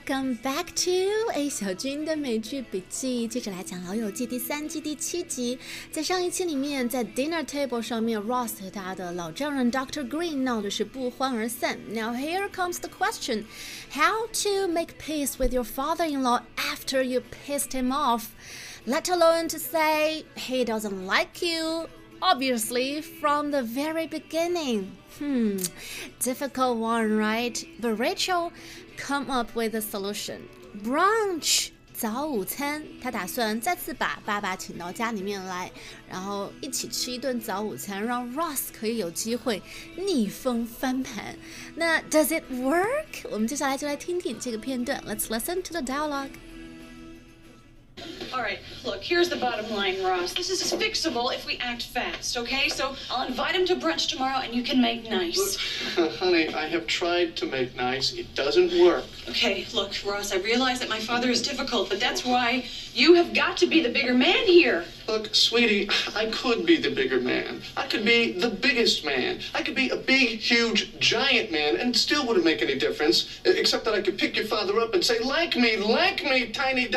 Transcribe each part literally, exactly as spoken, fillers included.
Welcome back to A 小军的美剧笔记，接着来讲《老友记》第三季第七集。在上一期里面，在 dinner table 上面 ，Ross 和他的老丈人 Doctor Green 闹的是不欢而散。Now here comes the question: How to make peace with your father-in-law after you pissed him off, let alone to say he doesn't like you?Obviously, from the very beginning. Hmm, difficult one, right? But Rachel come up with a solution. Brunch, 早午餐。她打算再次把爸爸请到家里面来，然后一起吃一顿早午餐，让 Ross 可以有机会逆风翻盘。那 Does it work? 我们接下来就来听听这个片段。Let's listen to the dialogue.All right, look, here's the bottom line, Ross. This is fixable if we act fast, okay? So I'll invite him to brunch tomorrow and you can make nice. Look, honey, I have tried to make nice. It doesn't work. Okay, look, Ross, I realize that my father is difficult, but that's why you have got to be the bigger man here. Look, sweetie, I could be the bigger man. I could be the biggest man. I could be a big, huge, giant man, and it still wouldn't make any difference, except that I could pick your father up and say, like me, like me, tiny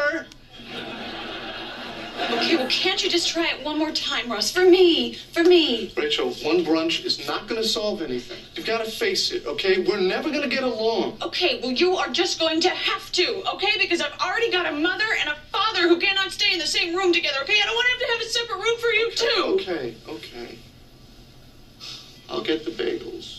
doctor.Okay, well, can't you just try it one more time, Ross? For me, for me. Rachel, one brunch is not going to solve anything. You've got to face it, okay? We're never going to get along. Okay, well, you are just going to have to, okay? Because I've already got a mother and a father who cannot stay in the same room together, okay? I don't want him to have a separate room for you, too. Okay, okay. I'll get the bagels.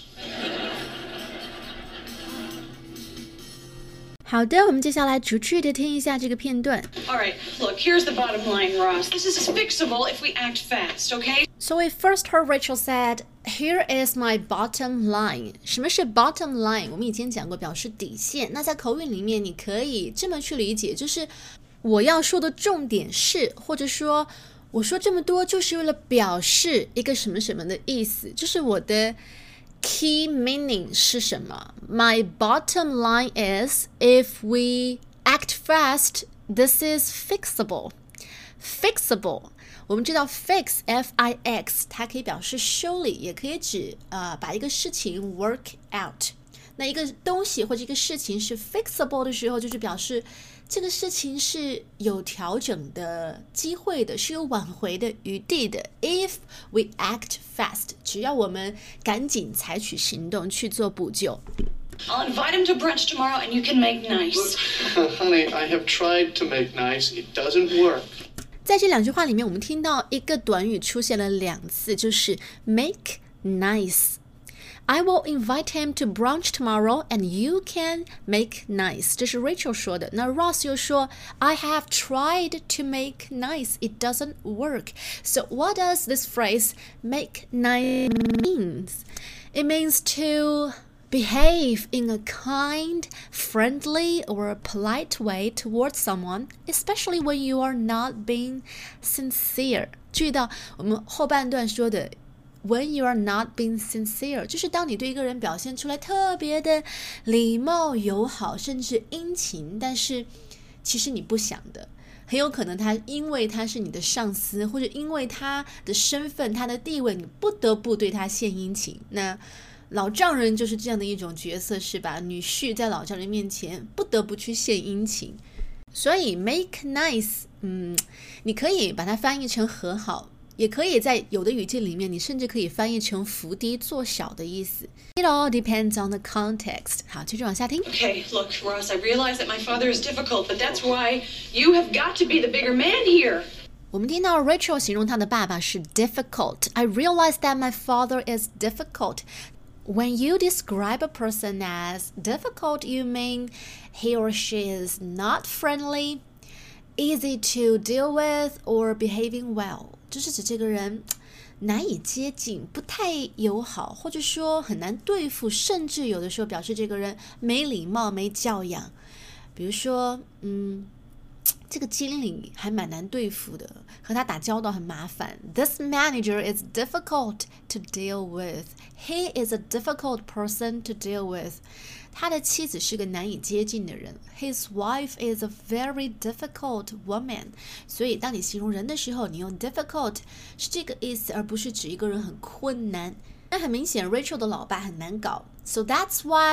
好的，我们接下来逐句的听一下这个片段。 All right, look, here's the bottom line, Ross. This is fixable if we act fast, okay? So we first heard Rachel said, "Here is my bottom line." 什么是 bottom line？ 我们以前讲过，表示底线。那在口语里面，你可以这么去理解，就是我要说的重点是，或者说我说这么多就是为了表示一个什么什么的意思，就是我的key meaning 是什么 My bottom line is, if we act fast, this is fixable. Fixable, 我们知道 fix, F I X, 它可以表示修理，也可以指、呃、把一个事情 work out. 那一个东西或者一个事情是 fixable 的时候，就是表示这个事情是有调整的机会的，是有挽回的余地的。If we act fast, 只要我们赶紧采取行动去做补救。 I'll invite him to brunch tomorrow and you can make nice. Look, honey, I have tried to make nice. It doesn't work. 在这两句话里面，我们听到一个短语出现了两次，就是 make nice。I will invite him to brunch tomorrow and you can make nice. 这是 Rachel 说的。那 Ross 又说 I have tried to make nice. It doesn't work. So what does this phrase make nice means? It means to behave in a kind, friendly, or polite way towards someone, especially when you are not being sincere. 注意到我们后半段说的When you are not being sincere, 就是当你对一个人表现出来特别的礼貌、友好，甚至殷勤，但是其实你不想的，很有可能他因为他是你的上司，或者因为他的身份、他的地位，你不得不对他献殷勤。那老丈人就是这样的一种角色，是吧？女婿在老丈人面前不得不去献殷勤。所以 make nice, 嗯，你可以把它翻译成和好。也可以在有的语境里面，你甚至可以翻译成伏低做小的意思。It all depends on the context. 好，继续往下听。 Okay, look, Ross, I realize that my father is difficult, but that's why you have got to be the bigger man here. 我们听到 Rachel 形容她的爸爸是 difficult. I realize that my father is difficult. When you describe a person as difficult, you mean he or she is not friendly, easy to deal with, or behaving well.就是指这个人难以接近，不太友好，或者说很难对付，甚至有的时候表示这个人没礼貌、没教养。比如说，嗯，这个经理还蛮难对付的，和他打交道很麻烦。This manager is difficult to deal with. He is a difficult person to deal with. 他的妻子是个难以接近的人。His wife is a very difficult woman. 所以当你形容人的时候，你用 difficult 是这个意思，而不是指一个人很困难。那很明显 Rachel 的老爸很难搞。So that's why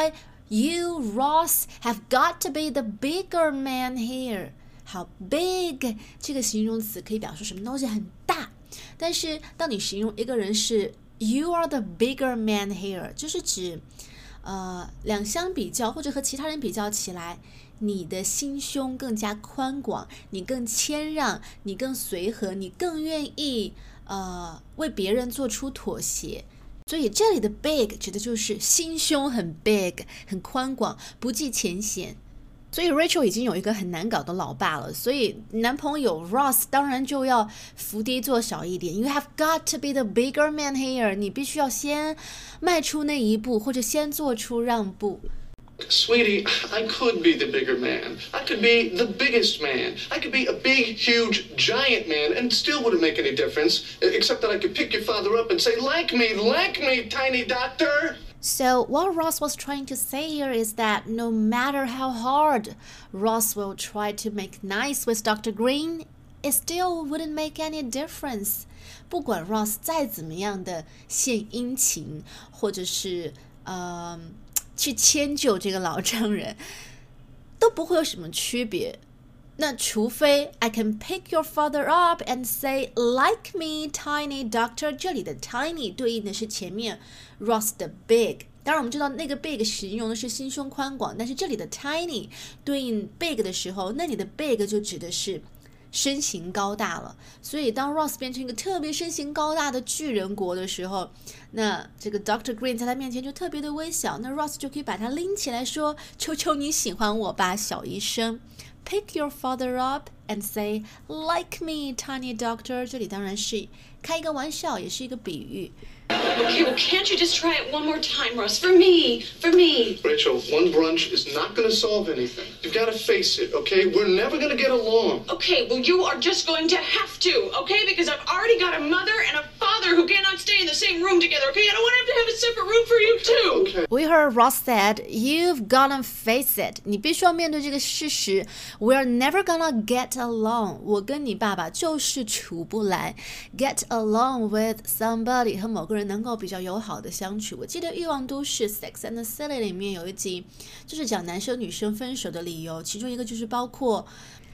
You, Ross, have got to be the bigger man here. 好 big 这个形容词可以表示什么东西很大，但是当你形容一个人是 You are the bigger man here， 就是指呃两相比较或者和其他人比较起来，你的心胸更加宽广，你更谦让，你更随和，你更愿意呃为别人做出妥协。所以这里的 big 指的就是心胸很 big 很宽广，不计前嫌。所以 Rachel 已经有一个很难搞的老爸了，所以男朋友 Ross 当然就要伏低做小一点。You have got to be the bigger man here， 你必须要先迈出那一步，或者先做出让步。 Sweetie, I could be the bigger man. I could be the biggest man. I could be a big, huge, giant man and still wouldn't make any difference, except that I could pick your father up and say, like me, like me, tiny doctor. So what Ross was trying to say here is that no matter how hard Ross will try to make nice with Doctor Green, it still wouldn't make any difference. 不管 Ross 再怎么样的献殷勤，或者是呃去迁就这个老丈人，都不会有什么区别。那除非 I can pick your father up and say like me, tiny doctor， 这里的 tiny 对应的是前面 Ross 的 big。当然我们知道那个 big 形容的是心胸宽广，但是这里的 tiny 对应 big 的时候，那里的 big 就指的是身形高大了。所以当 Ross 变成一个特别身形高大的巨人国的时候，那这个 Doctor Green 在他面前就特别的微小，那 Ross 就可以把他拎起来说，求求你喜欢我吧，小医生。Pick your father up and say, like me, tiny doctor. 这里当然是开一个玩笑，也是一个比喻。 Okay, well, can't you just try it one more time, Russ? For me, for me. Rachel, one brunch is not going to solve anything. You've got to face it, okay? We're never going to get along. Okay, well, you are just going to have to, okay? Because I've already got a mother and a father who cannot stay in the same room together, okay? I don't want him to have a separate room for you, too. Okay. We heard Ross said, you've gotta face it. 你必须要面对这个事实。We're never gonna get along. 我跟你爸爸就是处不来。Get along with somebody 和某个人能够比较友好的相处。我记得《欲望都市》Sex and the City 里面有一集，就是讲男生女生分手的理由，其中一个就是包括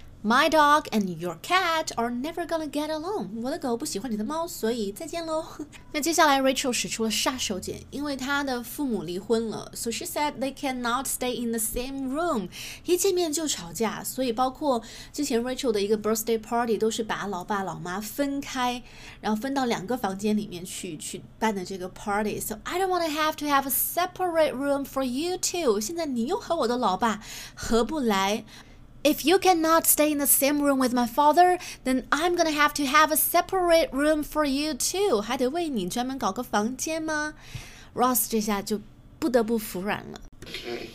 My dog and your cat are never gonna get along. 我的狗不喜欢你的猫，所以再见喽。那接下来 Rachel 使出了杀手锏，因为她的父母离婚了 So she said they cannot stay in the same room. 一见面就吵架，所以包括之前 Rachel 的一个 birthday party 都是把老爸老妈分开，然后分到两个房间里面去去办的这个 party. So I don't want to have to have a separate room for you too. 现在你又和我的老爸合不来。If you cannot stay in the same room with my father, then I'm gonna have to have a separate room for you too. 还得为你专门搞个房间吗 ？Ross 这下就不得不服软了。 Okay.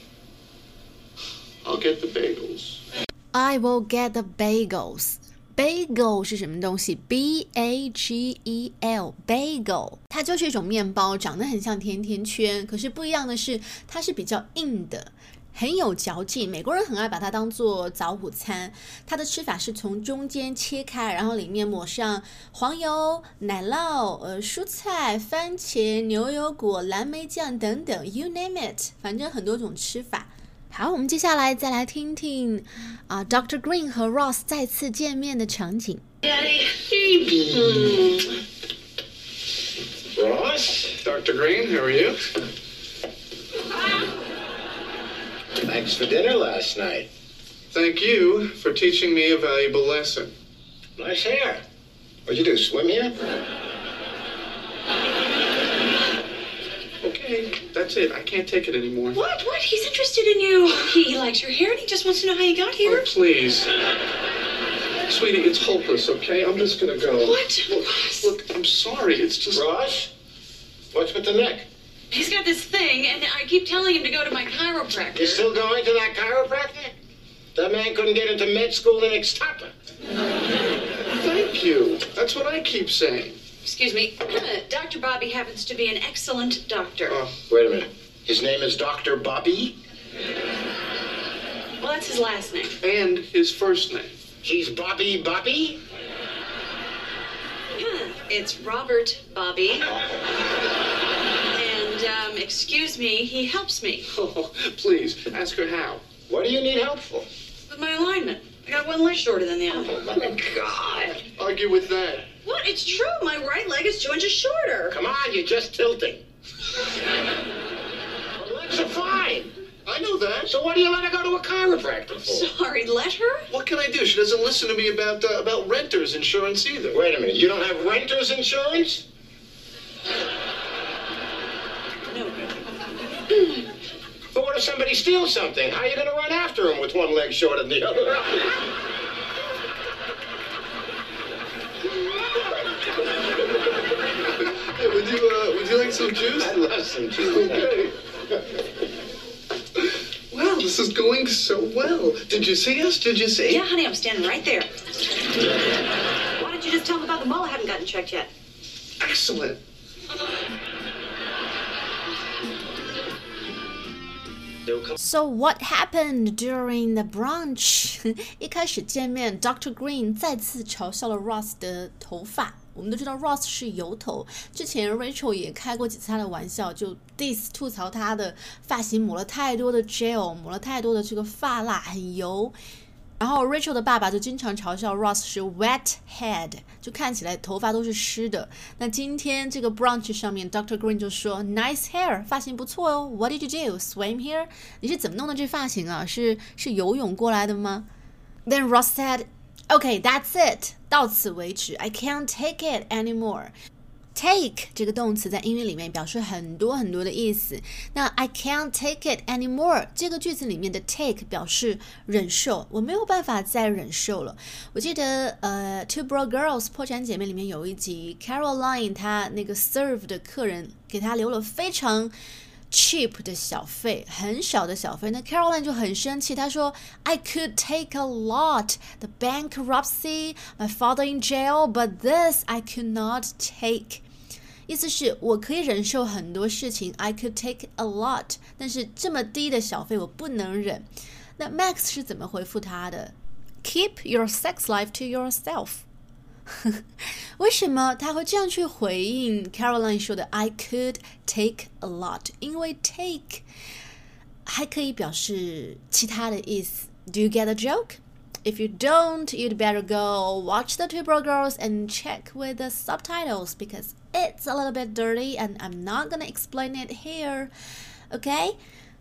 I'll get the bagels. I will get the bagels. Bagel 是什么东西 ？B A G E L Bagel， 它就是一种面包，长得很像甜甜圈，可是不一样的是，它是比较硬的。很有嚼劲，美国人很爱把它当做早午餐。它的吃法是从中间切开，然后里面抹上黄油、奶酪、呃蔬菜、番茄、牛油果、蓝莓酱等等 ，you name it， 反正很多种吃法。好，我们接下来再来听听啊 ，Doctor Green 和 Ross 再次见面的场景。 Daddy, baby. Ross, Doctor Green, how are you? Thanks for dinner last night. Thank you for teaching me a valuable lesson. Nice hair. What'd you do, swim here? Okay, that's it. I can't take it anymore. What? What? He's interested in you. He, he likes your hair and he just wants to know how you got here. Oh, please. Sweetie, it's hopeless, okay? I'm just gonna go. What? Look, look, I'm sorry. It's just... Ross? What's with the neck? He's got this thing, and I keep telling him to go to my chiropractor. You still going to that chiropractor? That man couldn't get into med school in Ixtapa. Thank you. That's what I keep saying. Excuse me. Doctor Bobby happens to be an excellent doctor. Oh, Wait a minute. His name is Doctor Bobby? Well, that's his last name. and his first name. He's Bobby Bobby? It's Robert Bobby. And um, excuse me, he helps me. Oh, please, ask her how. What do you need help for? With my alignment. I got one leg shorter than the other. Oh, my God. Argue with that. What? It's true. My right leg is two inches shorter. Come on, you're just tilting. Her legs are fine. I know that. So what do you let her go to a chiropractor for? Sorry, let her? What can I do? She doesn't listen to me about uh, about renters insurance either. Wait a minute, you don't have renter's insurance? No. But what if somebody steals something? How are you going to run after him with one leg shorter than the other? Hey, would you uh, would you like some juice? I love some juice. Okay. Wow, this is going so well. Did you see us? Did you see? Yeah, honey, I'm standing right there. Why don't you just tell him about the mall I haven't gotten checked yet? Excellent. So what happened during the brunch? 一开始见面 ，Doctor Green 再次嘲笑了 Ross 的头发。我们都知道 Ross 是油头，之前 Rachel 也开过几次他的玩笑，就 diss 吐槽他的发型抹了太多的 gel， 抹了太多的这个发蜡，很油。然后 Rachel 的爸爸就经常嘲笑 Ross 是 wet head， 就看起来头发都是湿的。那今天这个 brunch 上面 Doctor Green 就说 nice hair， 发型不错哦。What did you do? Swim here？ 你是怎么弄的这发型啊？是是游泳过来的吗？ Then Ross said，Okay, that's it. 到此为止 I can't take it anymore. Take 这个动词在英语里面表示很多很多的意思。那 I can't take it anymore 这个句子里面的 take 表示忍受，我没有办法再忍受了。我记得呃 Two Broke Girls 破产姐妹里面有一集 Caroline 她那个 serve 的客人给她留了非常cheap 的小费，很小的小费，那 Caroline 就很生气，她说 I could take a lot, the bankruptcy, my father in jail, but this I could not take. 意思是我可以忍受很多事情 I could take a lot， 但是这么低的小费我不能忍。那 Max 是怎么回复他的？ Keep your sex life to yourself。为什么他会这样去回应 Caroline 说的 I could take a lot？ 因为 take 还可以表示其他的意思。Do you get a joke? If you don't, you'd better go watch the Two Broke Girls and check with the subtitles because it's a little bit dirty and I'm not gonna explain it here. Okay?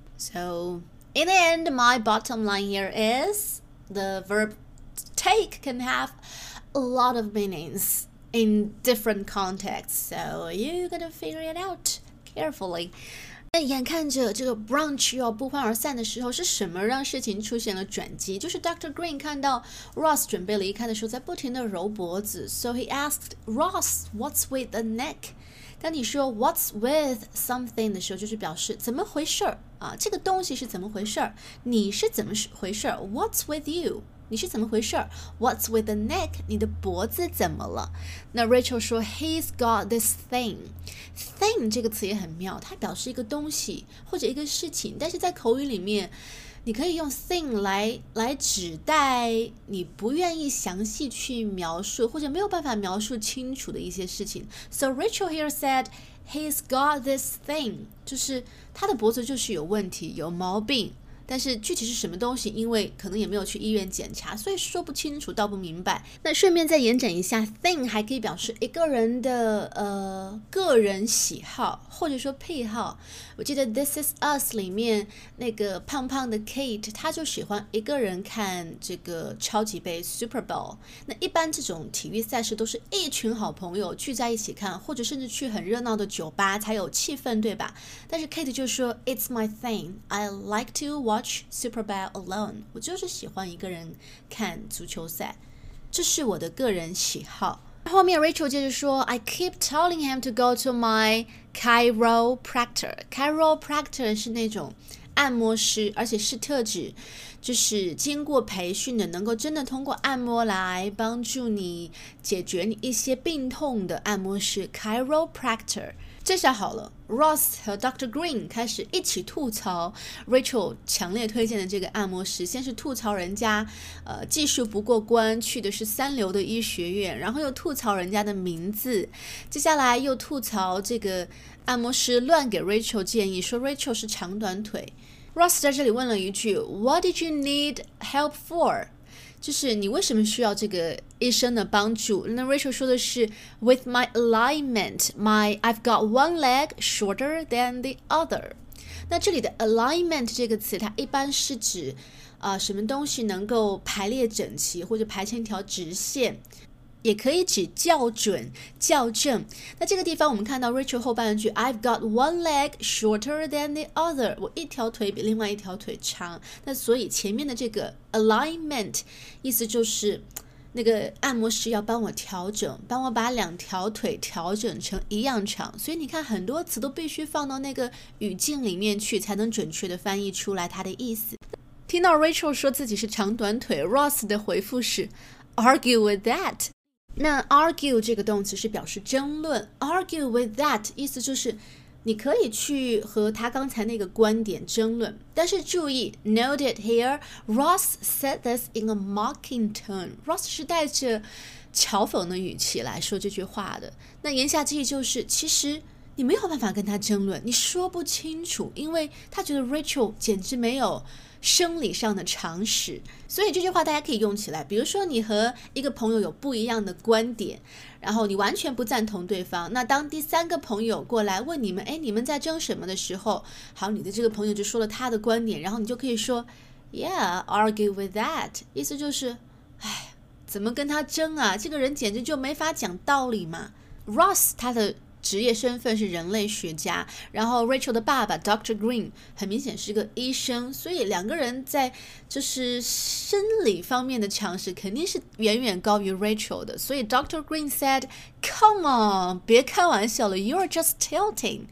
So, in the end, my bottom line here is the verb take can have a lot of meanings in different contexts, so you gotta figure it out carefully. 那眼看着这个 brunch 要不欢而散的时候，是什么让事情出现了转机？就是 Doctor Green 看到 Ross 准备离开的时候，在不停的揉脖子 ，so he asked Ross, "What's with the neck?" 当你说 "What's with something" 的时候，就是表示怎么回事儿啊？这个东西是怎么回事儿？你是怎么回事儿 ？What's with you？你是怎么回事 ？What's with the neck？ 你的脖子怎么了？那 Rachel 说 He's got this thing。thing 这个词也很妙，它表示一个东西或者一个事情，但是在口语里面，你可以用 thing 来来指代你不愿意详细去描述或者没有办法描述清楚的一些事情。So Rachel here said He's got this thing， 就是他的脖子就是有问题，有毛病。但是具体是什么东西，因为可能也没有去医院检查，所以说不清楚，道不明白。那顺便再延展一下 thing 还可以表示一个人的呃个人喜好或者说癖好。我记得 This Is Us 里面那个胖胖的 Kate， 他就喜欢一个人看这个超级杯 Super Bowl。那一般这种体育赛事都是一群好朋友聚在一起看，或者甚至去很热闹的酒吧才有气氛，对吧？但是 Kate 就说 It's my thing, I like to watch Super Bowl alone， 我就是喜欢一个人看足球赛，这是我的个人喜好。后面 Rachel 接着说 I keep telling him to go to my chiropractor. Chiropractor 是那种按摩师，而且是特指就是经过培训的，能够真的通过按摩来帮助你解决你一些病痛的按摩师 chiropractor。这这下好了 ，Ross 和 Doctor Green 开始一起吐槽 Rachel 强烈推荐的这个按摩师。先是吐槽人家，呃，技术不过关，去的是三流的医学院，然后又吐槽人家的名字，接下来又吐槽这个按摩师乱给 Rachel 建议，说 Rachel 是长短腿。Ross 在这里问了一句 ，What did you need help for？就是你为什么需要这个医生的帮助？那 Rachel 说的是 With my alignment, my I've got one leg shorter than the other。那这里的 alignment 这个词，它一般是指呃什么东西能够排列整齐，或者排成一条直线。也可以指校准、校正。那这个地方我们看到 Rachel 后半句 I've got one leg shorter than the other， 我一条腿比另外一条腿长。那所以前面的这个 alignment 意思就是那个按摩师要帮我调整，帮我把两条腿调整成一样长。所以你看很多词都必须放到那个语境里面去，才能准确的翻译出来它的意思。听到 Rachel 说自己是长短腿， Ross 的回复是 argue with that。那 argue 这个动词是表示争论 argue with that 意思就是你可以去和他刚才那个观点争论，但是注意 note it here Ross said this in a mocking tone。 Ross 是带着嘲讽的语气来说这句话的。那言下之意就是其实你没有办法跟他争论，你说不清楚，因为他觉得 Rachel 简直没有生理上的常识。所以这句话大家可以用起来，比如说你和一个朋友有不一样的观点，然后你完全不赞同对方，那当第三个朋友过来问你们，哎，你们在争什么的时候，好，你的这个朋友就说了他的观点，然后你就可以说 Yeah, argue with that， 意思就是哎，怎么跟他争啊，这个人简直就没法讲道理嘛。 Ross 他的职业身份是人类学家，然后 Rachel 的爸爸 Doctor Green 很明显是个医生，所以两个人在就是生理方面的常识肯定是远远高于 Rachel 的。所以 Doctor Green said Come on， 别开玩笑了， You're just tilting。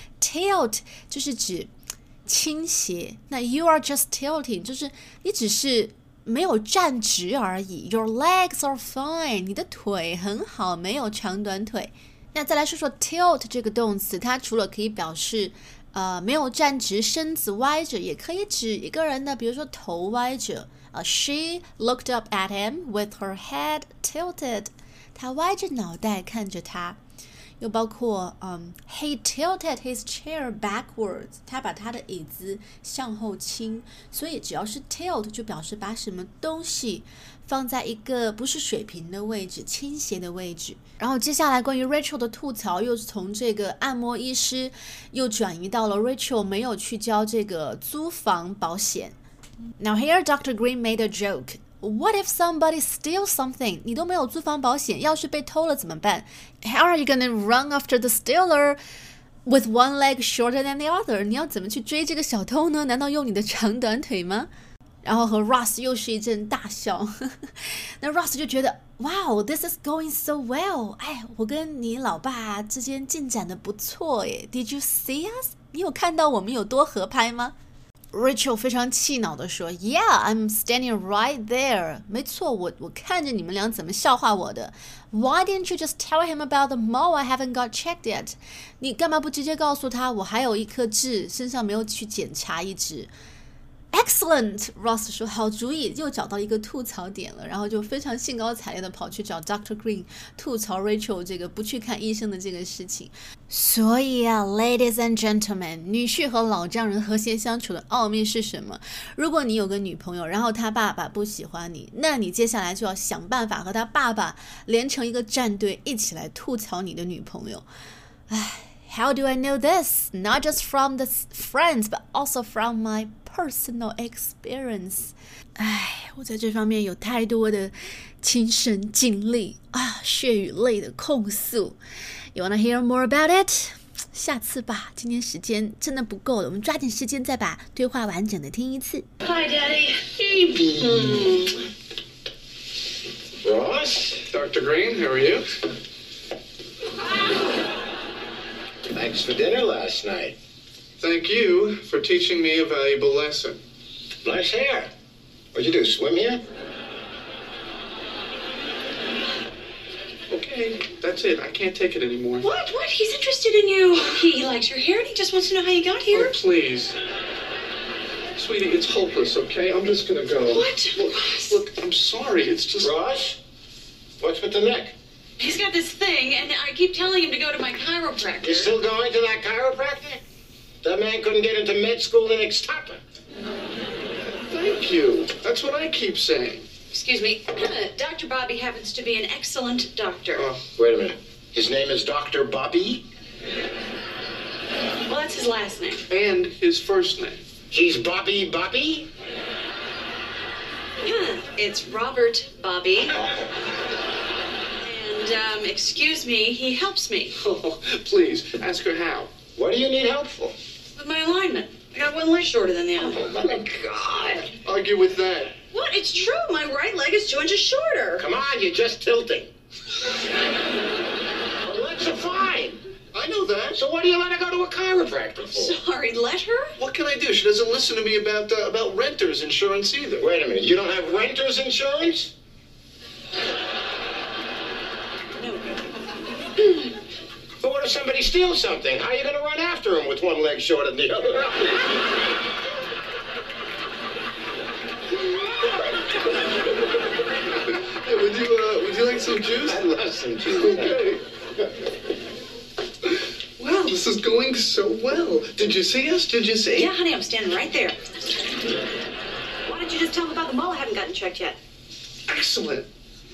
Tilt 就是指倾斜，那 You are just tilting 就是你只是没有站直而已。 Your legs are fine， 你的腿很好，没有长短腿。那再来说说 tilt 这个动词，它除了可以表示呃没有站直，身子歪着，也可以指一个人的比如说头歪着。uh, She looked up at him with her head tilted， 她歪着脑袋看着他。又包括、um, He tilted his chair backwards， 他把他的椅子向后倾。所以只要是 tilt 就表示把什么东西放在一个不是水平的位置，倾斜的位置。然后接下来关于 Rachel 的吐槽又从这个按摩医师又转移到了 Rachel 没有去交这个租房保险。 Now here Doctor Green made a joke。What if somebody steals something？ 你都没有租房保险，要是被偷了怎么办？ How are you gonna run after the stealer with one leg shorter than the other？ 你要怎么去追这个小偷呢？难道用你的长短腿吗？然后和 Ross 又是一阵大笑。那 Ross 就觉得 Wow, this is going so well。 哎，我跟你老爸之间进展的不错耶。 Did you see us？ 你有看到我们有多合拍吗？Rachel 非常气恼地说 Yeah, I'm standing right there。 没错，我我看着你们俩怎么笑话我的。 Why didn't you just tell him about the mole I haven't got checked yet？ 你干嘛不直接告诉他我还有一颗痣，身上没有去检查一只。Excellent， Ross 说好主意，又找到一个吐槽点了，然后就非常兴高采烈的跑去找 Doctor Green 吐槽 Rachel 这个不去看医生的这个事情。所以啊 Ladies and gentlemen， 女婿和老丈人和谐相处的奥秘是什么？如果你有个女朋友，然后她爸爸不喜欢你，那你接下来就要想办法和她爸爸连成一个战队，一起来吐槽你的女朋友。唉How do I know this? Not just from the friends, but also from my personal experience. 唉，我在这方面有太多的亲身经历啊，血与泪的控诉。You wanna hear more about it? 下次吧，今天时间真的不够了，我们抓紧时间再把对话完整的听一次。 Hi, Daddy. Mm. Ross, Doctor Green, how are you? Thanks for dinner last night. Thank you for teaching me a valuable lesson. Nice hair. What'd you do, swim here? Okay. Okay, that's it. I can't take it anymore. What? What? He's interested in you. He, he likes your hair and he just wants to know how you got here. Oh, please. Sweetie, it's hopeless, okay? I'm just gonna go. What? Look, look, I'm sorry. It's just... Ross, what's with the neck? He's got this thing, and I keep telling him to go to my chiropractor. You still going to that chiropractor? That man couldn't get into med school in Ixtapa. Thank you. That's what I keep saying. Excuse me. Doctor Bobby happens to be an excellent doctor. Oh, Wait a minute. His name is Doctor Bobby? Well, that's his last name. and his first name. He's Bobby Bobby? Huh. It's Robert Bobby. And, um, excuse me, he helps me Oh, please, ask her how. What do you need help for? with my alignment. I got one leg shorter than the other. Oh, my God. Argue with that. What? It's true. My right leg is two inches shorter. Come on, you're just tilting. Well, legs are fine. I know that. So what do you let her go to a chiropractor for? Sorry, let her? What can I do? She doesn't listen to me about uh, about renters insurance either. Wait a minute, you don't have renter's insurance? No. But what if somebody steals something? How are you going to run after him with one leg shorter than the other? Hey, would you uh, would you like some juice? I love some juice. Okay. Wow, this is going so well. Did you see us? Did you see? Yeah, honey, I'm standing right there. Why don't you just tell them about the mole I haven't gotten checked yet? Excellent.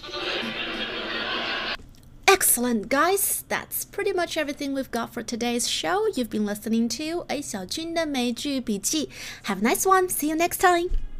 Excellent, guys. That's pretty much everything we've got for today's show. You've been listening to A 小军的美剧笔记. Have a nice one. See you next time.